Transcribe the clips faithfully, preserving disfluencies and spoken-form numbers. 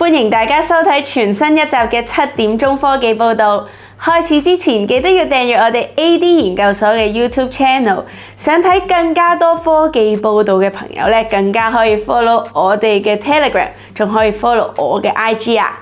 歡迎大家收睇全新一集嘅七點鐘科技報道。開始之前記得要訂閱我哋 A D 研究所嘅 YouTube Channel。想睇更加多科技報道嘅朋友咧，更加可以 follow 我哋嘅 Telegram， 仲可以 follow 我嘅 I G 啊。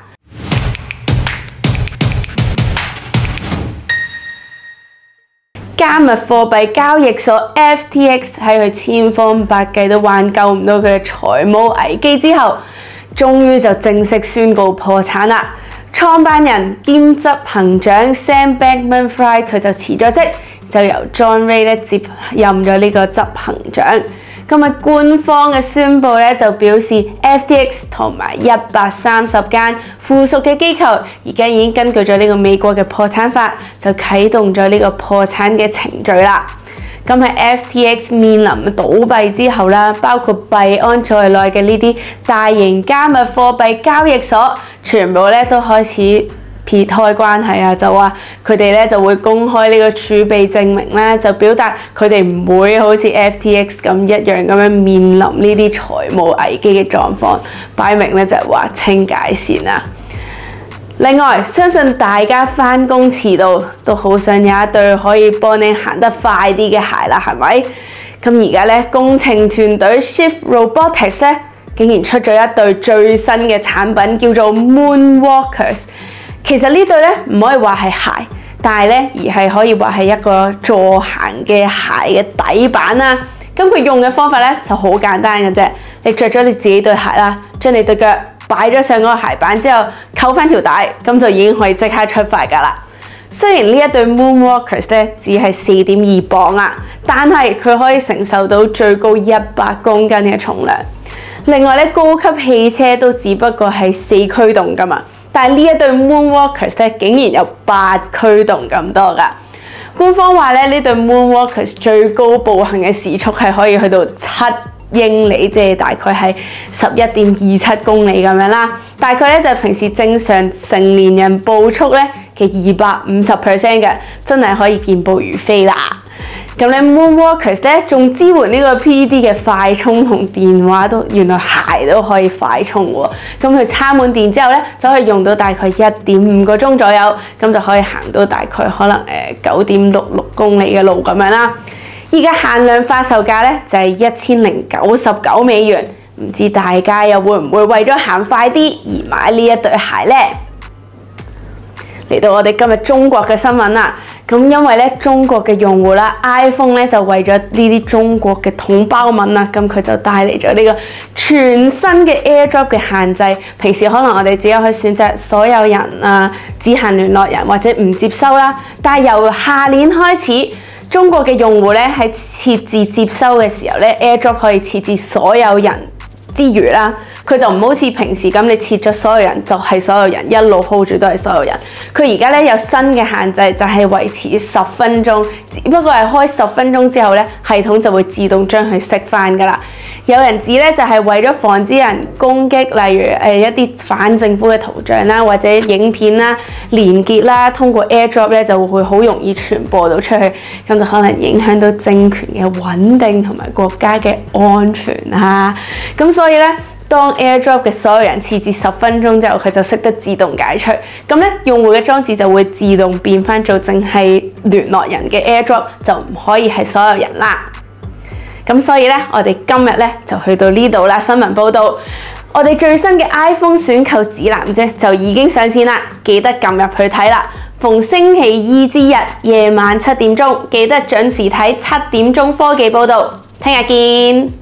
加密貨幣交易所 F T X 喺佢千方百計都挽救唔到佢嘅財務危機之後，終於就正式宣告破產啦。創辦人兼執行長 Sam Bankman-Fried 佢就辭咗職，就由 John Ray 咧接任咗呢個執行長。今日官方嘅宣佈咧就表示 F T X 同埋一百三十間附屬嘅機構，而家已經根據咗呢個美國嘅破產法，就啟動咗呢個破產嘅程序啦。咁喺 F T X 面臨倒閉之後啦，包括幣安在內嘅呢啲大型加密貨幣交易所，全部咧都開始撇開關係啊，就話佢哋咧就會公開呢個儲備證明啦，就表達佢哋唔會好似 F T X 咁一樣咁樣面臨呢啲財務危機嘅狀況，擺明咧就係劃清界線啦。另外，相信大家返工遲到都好想有一對可以幫你行得快啲嘅鞋啦，係咪？咁而家咧工程團隊 Shift Robotics 咧竟然出咗一對最新嘅產品，叫做 Moonwalkers。其實呢對咧唔可以話係鞋，但係咧而係可以話係一個助行嘅鞋嘅底板啦。咁佢用嘅方法咧就好簡單嘅啫，你着咗你自己對鞋啦，將你對腳擺咗上嗰個鞋板之後，扣翻條帶，咁就已經可以即刻出發㗎啦。雖然呢一對 Moonwalkers 咧只係四點二磅啊，但係佢可以承受到最高一百公斤嘅重量。另外咧，高級汽車都只不過係四驅動㗎嘛，但係呢一對 Moonwalkers 咧竟然有八驅動咁多㗎。官方話咧，呢對 Moonwalkers 最高步行嘅時速係可以去到七英里，即係大概係十一點二七公里咁樣啦。大概咧就係平時正常成年人步速咧嘅二百五十 percent 嘅，真係可以健步如飛啦。咁咧 Moonwalkers 咧仲支援呢個 P E D 嘅快充同電話都，原來鞋都可以快充喎。咁佢插滿電之後咧，就可以用到大概一點五個鐘左右，咁就可以行到大概可能誒九點六六公里嘅路咁樣啦。而家限量發售價咧就係一千零九十九美元，唔知大家又會唔會為咗行快啲而買呢一對鞋呢？嚟到我哋今日中國嘅新聞啦，咁因為咧中國嘅用戶啦 ，iPhone 咧就為咗呢啲中國嘅統包文啦，咁佢就帶嚟咗呢個全新嘅 AirDrop 嘅限制。平時可能我哋只有去選擇所有人啊、只限聯絡人或者唔接收啦，但係由下年開始，中國嘅用戶咧喺設置接收嘅時候咧 ，AirDrop 可以設置所有人之餘啦，佢就唔好似平時咁，你設咗所有人就係所有人，一路 hold 住都係所有人。佢而家咧有新嘅限制，就係維持十分鐘，只不過係開十分鐘之後咧，系統就會自動將佢熄翻噶啦。有人指咧就係為咗防止人攻擊，例如誒一啲反政府嘅圖像啦，或者影片啦、連結啦，通過 AirDrop 咧就會好容易傳播到出去，咁就可能影響到政權嘅穩定同埋國家嘅安全啊。咁所以咧，當 AirDrop 嘅所有人設置十分鐘之後，佢就識得自動解除。咁咧，用戶嘅裝置就會自動變翻做淨係聯絡人嘅 AirDrop，就唔可以係所有人啦。咁所以咧，我哋今日咧就去到呢度啦。新聞報道，我哋最新嘅 iPhone 選購指南啫，就已經上線啦，記得撳入去睇啦。逢星期二至日夜晚七點鐘，記得準時睇七點鐘科技報道。聽日見。